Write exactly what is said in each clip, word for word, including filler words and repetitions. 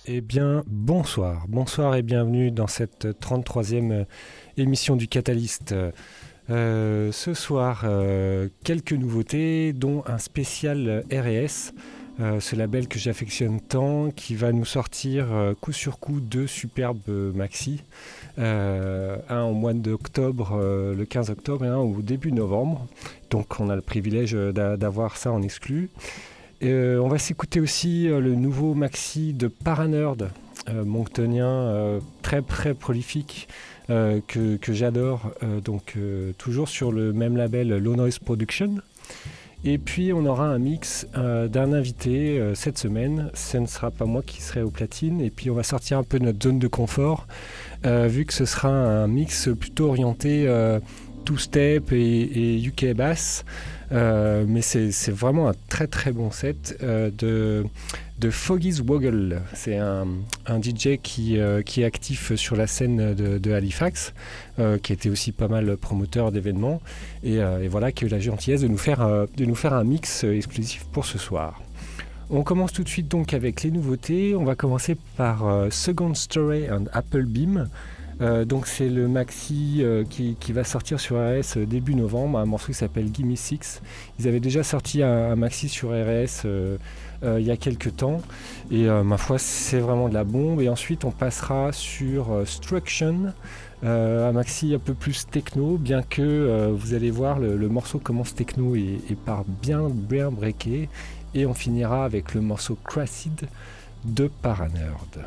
Eh bien, bonsoir. Bonsoir et bienvenue dans cette trente-troisième émission du Catalyst. Euh, ce soir, euh, quelques nouveautés, dont un spécial R et S, euh, ce label que j'affectionne tant, qui va nous sortir euh, coup sur coup deux superbes maxi. Euh, un au mois d'octobre, euh, le quinze octobre, et un au début novembre. Donc on a le privilège d'a- d'avoir ça en exclu. Euh, on va s'écouter aussi euh, le nouveau maxi de Paranerd, euh, monctonien, euh, très très prolifique, euh, que, que j'adore, euh, donc euh, toujours sur le même label Low Noise Production. Et puis on aura un mix euh, d'un invité euh, cette semaine. Ce ne sera pas moi qui serai au platine. Et puis on va sortir un peu de notre zone de confort, euh, vu que ce sera un mix plutôt orienté euh, two-step et, et U K bass. Euh, mais c'est, c'est vraiment un très très bon set euh, de, de Foggy's Woggle. C'est un, un D J qui, euh, qui est actif sur la scène de, de Halifax, euh, qui était aussi pas mal promoteur d'événements, et, euh, et voilà, qui a eu la gentillesse de nous faire, euh, de nous faire un mix exclusif pour ce soir. On commence tout de suite donc avec les nouveautés. On va commencer par euh, Second Story and Apple Beam. Euh, donc c'est le maxi euh, qui, qui va sortir sur R S début novembre, un morceau qui s'appelle Gimme Six. Ils avaient déjà sorti un, un maxi sur R S euh, euh, il y a quelques temps, et euh, ma foi c'est vraiment de la bombe. Et ensuite on passera sur euh, Struction, euh, un maxi un peu plus techno, bien que euh, vous allez voir le, le morceau commence techno et, et part bien bien breaké, et on finira avec le morceau Cracid de Paranerd.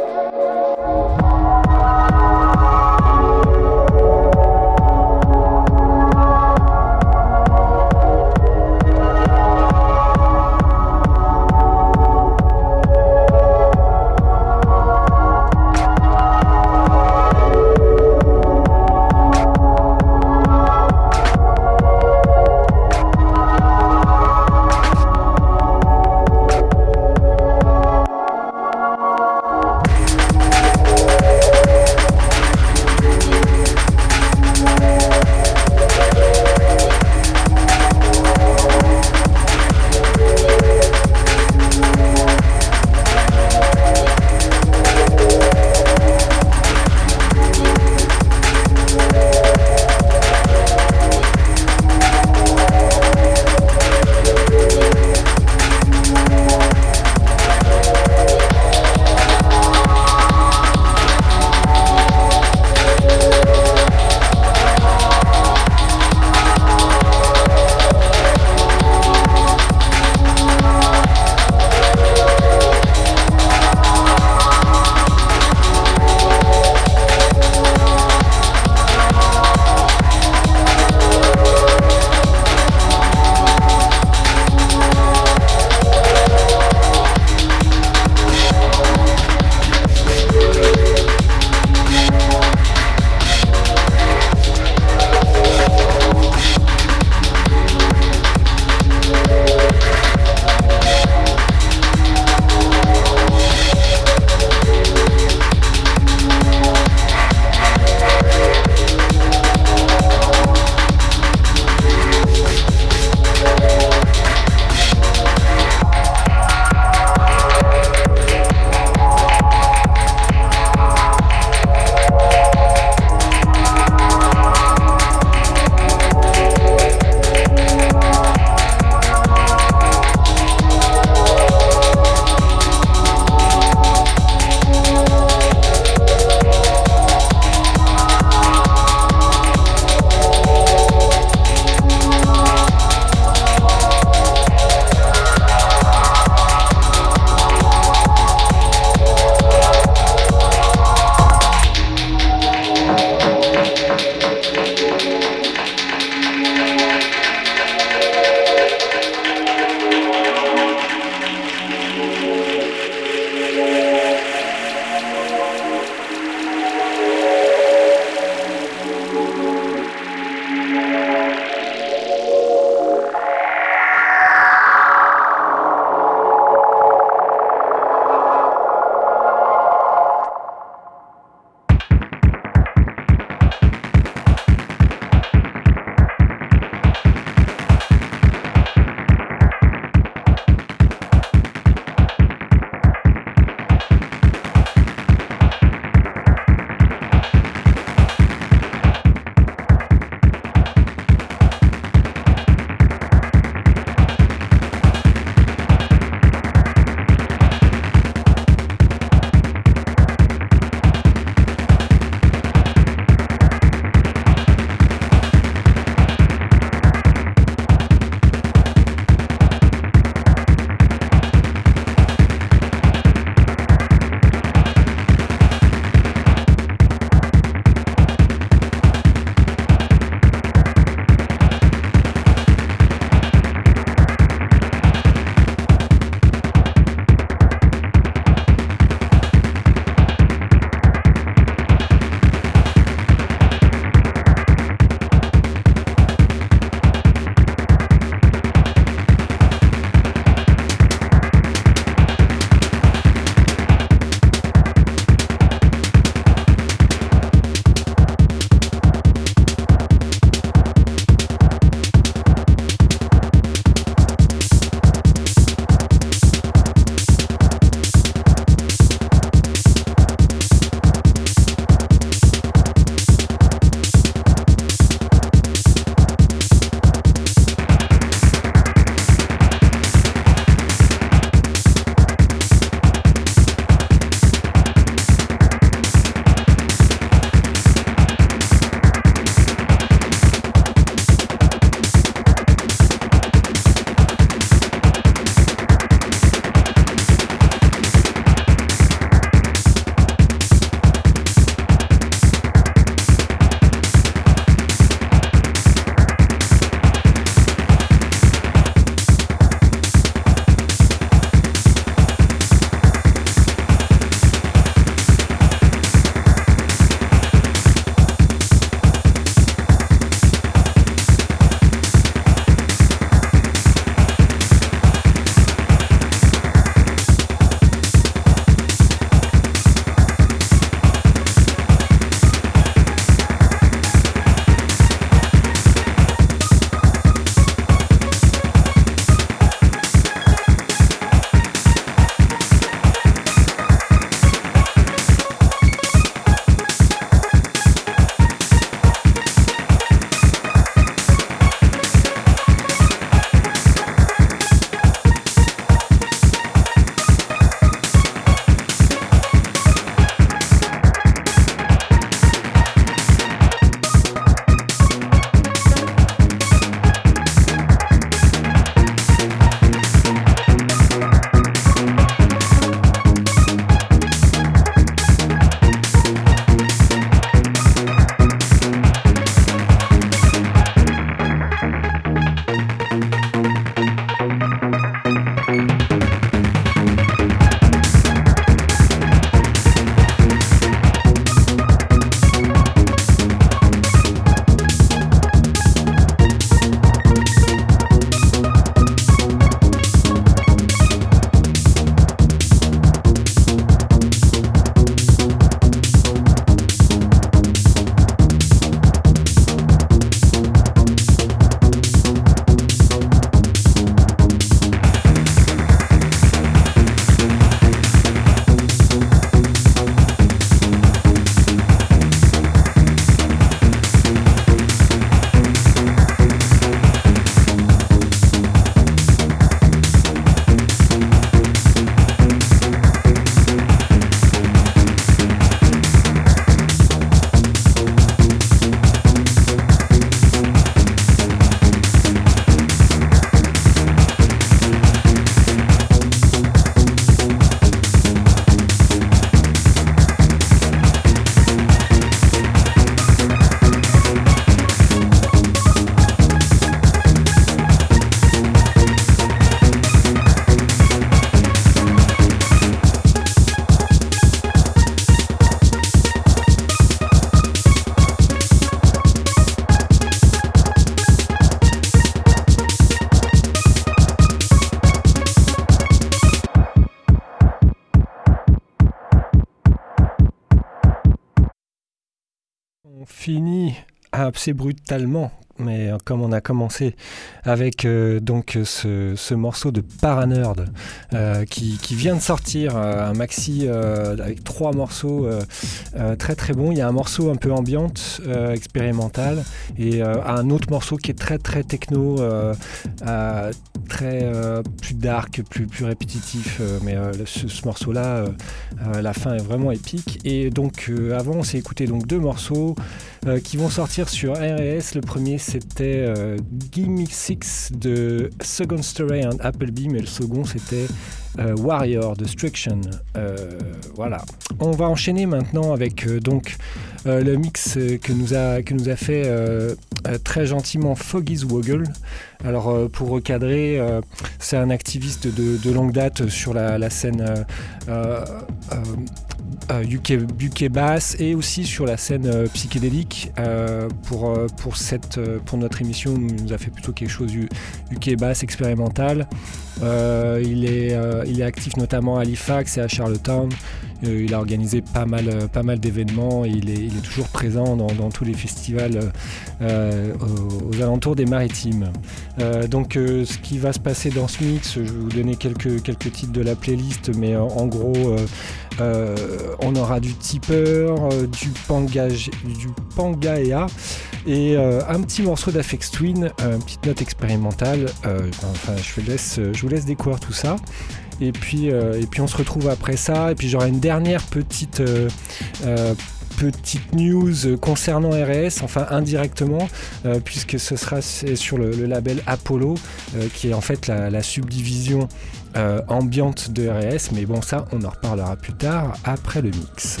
finit assez brutalement, mais comme on a commencé avec euh, donc ce, ce morceau de Paranerd euh, qui, qui vient de sortir, euh, un maxi euh, avec trois morceaux euh, euh, très très bons. Il y a un morceau un peu ambiante, euh, expérimental, et euh, un autre morceau qui est très très techno, euh, euh, très euh, plus dark, plus, plus répétitif, euh, mais euh, ce, ce morceau-là, euh, euh, la fin est vraiment épique. Et donc euh, avant, on s'est écouté donc deux morceaux euh, qui vont sortir sur R et S. Le premier, c'était euh, Gimme Six de Second Story and Applebee, mais le second, c'était euh, Warrior Destruction. Euh, voilà. On va enchaîner maintenant avec euh, donc euh, le mix que nous a, que nous a fait euh, euh, très gentiment Foggy's Woggle. Alors euh, pour recadrer, euh, c'est un activiste de, de longue date sur la, la scène euh, euh, euh, U K, U K bass et aussi sur la scène euh, psychédélique. Euh, pour, euh, pour, cette, euh, pour notre émission, il nous a fait plutôt quelque chose U, UK bass expérimental. Euh, il, est, euh, il est actif notamment à Halifax et à Charlottetown. Euh, il a organisé pas mal, euh, pas mal d'événements et il est, il est toujours présent dans, dans tous les festivals euh, aux, aux alentours des Maritimes. Euh, donc euh, ce qui va se passer dans ce mix, je vais vous donner quelques, quelques titres de la playlist, mais euh, en gros euh, euh, on aura du Tipper, euh, du, Pangage, du Pangaea et euh, un petit morceau d'Aphex Twin, euh, une petite note expérimentale. Euh, enfin, je, laisse, je vous laisse découvrir tout ça. Et puis, euh, et puis on se retrouve après ça. Et puis j'aurai une dernière petite, euh, euh, petite news concernant R et S, enfin indirectement, euh, puisque ce sera sur le, le label Apollo, euh, qui est en fait la, la subdivision euh, ambiante de R et S. Mais bon, ça, on en reparlera plus tard, après le mix.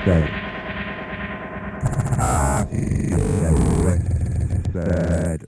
bed. Ah, bed.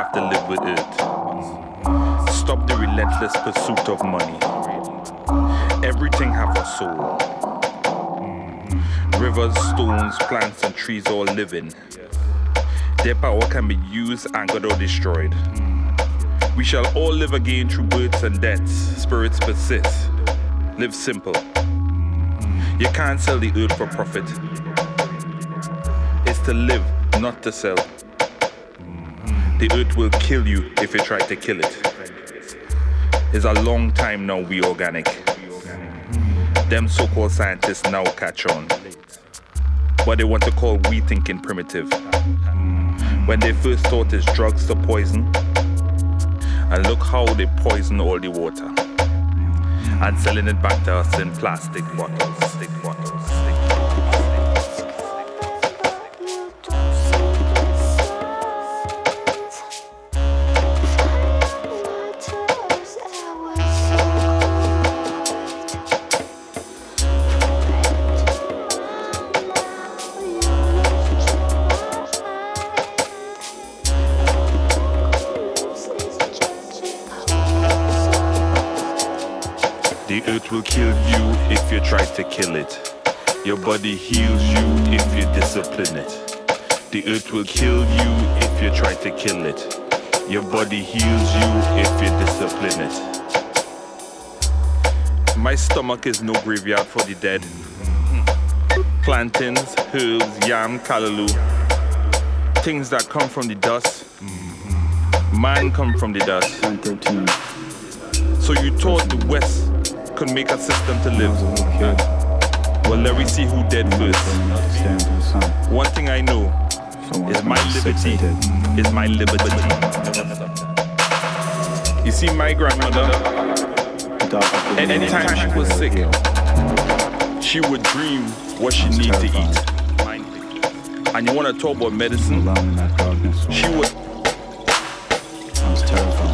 have to live with it. Stop the relentless pursuit of money. Everything have a soul. Rivers, stones, plants, and trees all living. Their power can be used, anchored, or destroyed. We shall all live again through births and deaths. Spirits persist. Live simple. You can't sell the earth for profit. It's to live, not to sell. The earth will kill you if you try to kill it. It's a long time now we organic. Them so-called scientists now catch on. But they want to call we thinking primitive. When they first thought it's drugs to poison. And look how they poison all the water. And selling it back to us in plastic bottles, stick bottles, stick The earth will kill you if you try to kill it. Your body heals you if you discipline it. The earth will kill you if you try to kill it. Your body heals you if you discipline it. My stomach is no graveyard for the dead. Plantains, herbs, yam, callaloo. Things that come from the dust. Man come from the dust. So you thought the West could make a system to live. Well, let me see who dead first. One thing I know is my liberty is my liberty. You see, my grandmother, anytime she was sick, she would dream what she needed to eat. And you want to talk about medicine? She would. I was terrified.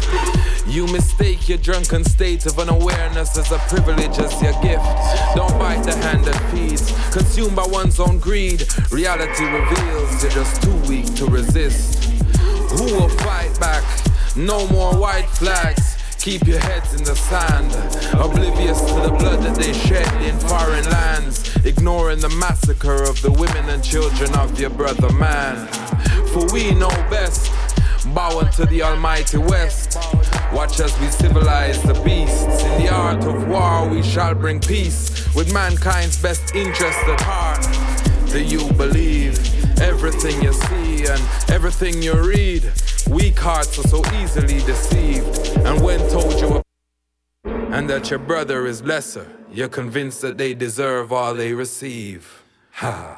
You mistake your drunken state of unawareness as a privilege, as your gift. Don't bite the hand that feeds, consumed by one's own greed. Reality reveals you're just too weak to resist. Who will fight back? No more white flags. Keep your heads in the sand, oblivious to the blood that they shed in foreign lands, ignoring the massacre of the women and children of your brother man. For we know best, bow unto the almighty West. Watch as we civilize the beasts. In the art of war we shall bring peace, with mankind's best interest at heart. Do you believe everything you see and everything you read? Weak hearts are so easily deceived, and when told you and that your brother is lesser, you're convinced that they deserve all they receive. Ha.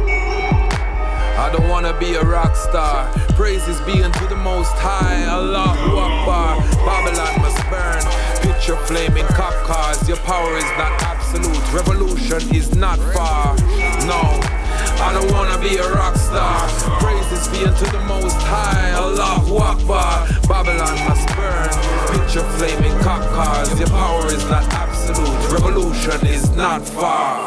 I don't wanna be a rock star. Praises be unto the Most High. Allahu Akbar. Babylon must burn. Picture flaming cop cars. Your power is not absolute. Revolution is not far. No, I don't wanna be a rock star. Praises be unto the Most High. Allahu Akbar. Babylon must burn. Picture flaming cop cars. Your power is not absolute. Revolution is not far.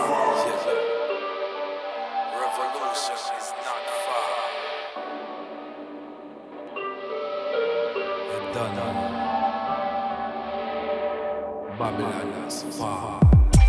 Babylon is far.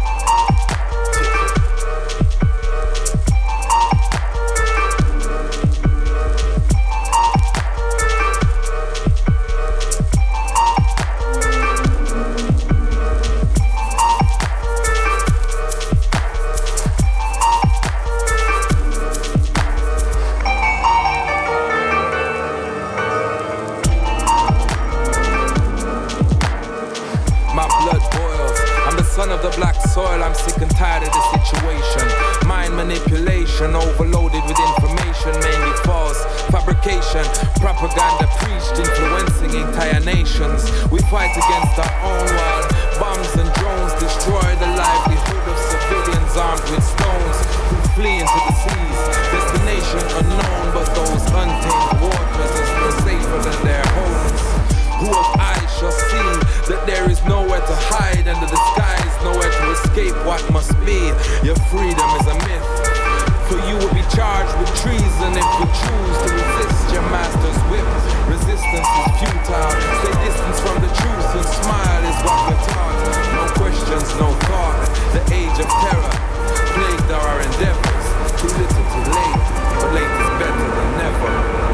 I'm sick and tired of the situation. Mind manipulation, overloaded with information, mainly false. Fabrication, propaganda preached, influencing entire nations. We fight against our own while bombs and drones destroy the livelihood of civilians armed with stones who flee into the seas. Destination unknown, but those untamed waters are still safer than their homes. Who of eyes shall see that there is nowhere to hide under the skies, nowhere to escape what must be. Your freedom is a myth, for you will be charged with treason if you choose to resist your master's whip. Resistance is futile. Stay distance from the truth and smile is what we're taught. No questions, no thought. The age of terror plagued our endeavors. Too little, too late, but late is better than never.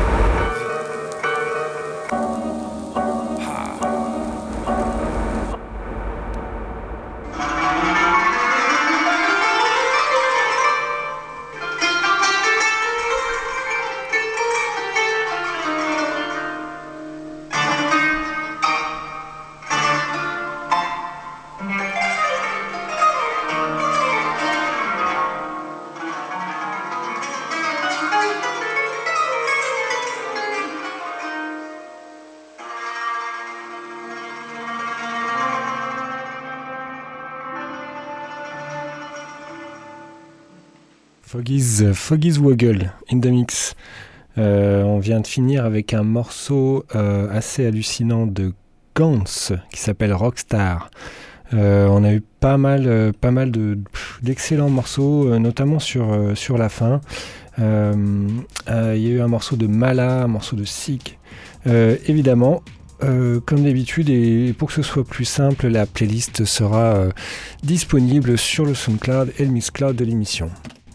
Foggy's, Foggy's Woggle in the mix. Euh, on vient de finir avec un morceau euh, assez hallucinant de Gantz qui s'appelle Rockstar. Euh, on a eu pas mal, euh, pas mal de, pff, d'excellents morceaux, euh, notamment sur, euh, sur la fin. Il euh, euh, y a eu un morceau de Mala, un morceau de Sick. Euh, évidemment, Euh, comme d'habitude, et pour que ce soit plus simple, la playlist sera euh, disponible sur le SoundCloud et le Mixcloud de l'émission.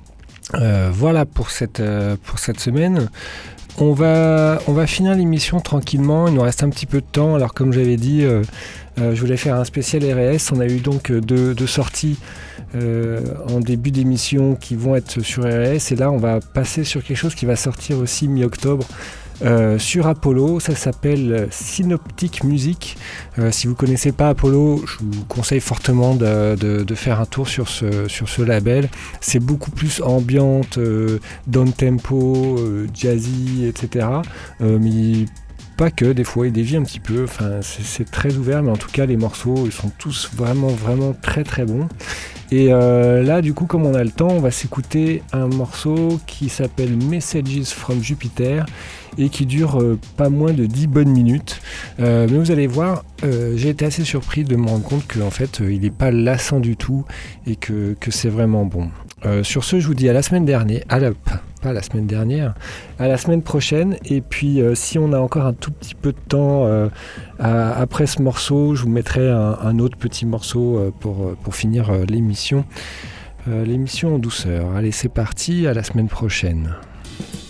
Euh, voilà pour cette, euh, pour cette semaine. On va, on va finir l'émission tranquillement, il nous reste un petit peu de temps. Alors comme j'avais dit, euh, euh, je voulais faire un spécial R et S. On a eu donc deux, deux sorties euh, en début d'émission qui vont être sur R et S. Et là on va passer sur quelque chose qui va sortir aussi mi-octobre. Euh, sur Apollo, ça s'appelle Synoptic Music. Euh, si vous ne connaissez pas Apollo, je vous conseille fortement de, de, de faire un tour sur ce, sur ce label. C'est beaucoup plus ambiante, euh, down tempo, euh, jazzy, et cetera. Euh, mais pas que, des fois il dévie un petit peu. Enfin, c'est, c'est très ouvert, mais en tout cas les morceaux ils sont tous vraiment vraiment très très bons. Et euh, là du coup, comme on a le temps, on va s'écouter un morceau qui s'appelle Messages from Jupiter. et qui dure euh, pas moins de dix bonnes minutes. Euh, mais vous allez voir, euh, j'ai été assez surpris de me rendre compte qu'en fait, euh, il n'est pas lassant du tout et que, que c'est vraiment bon. Euh, sur ce, je vous dis à la semaine dernière, à la, pas la semaine dernière, à la semaine prochaine. Et puis, euh, si on a encore un tout petit peu de temps euh, à, après ce morceau, je vous mettrai un, un autre petit morceau euh, pour, pour finir euh, l'émission. Euh, l'émission en douceur. Allez, c'est parti, à la semaine prochaine.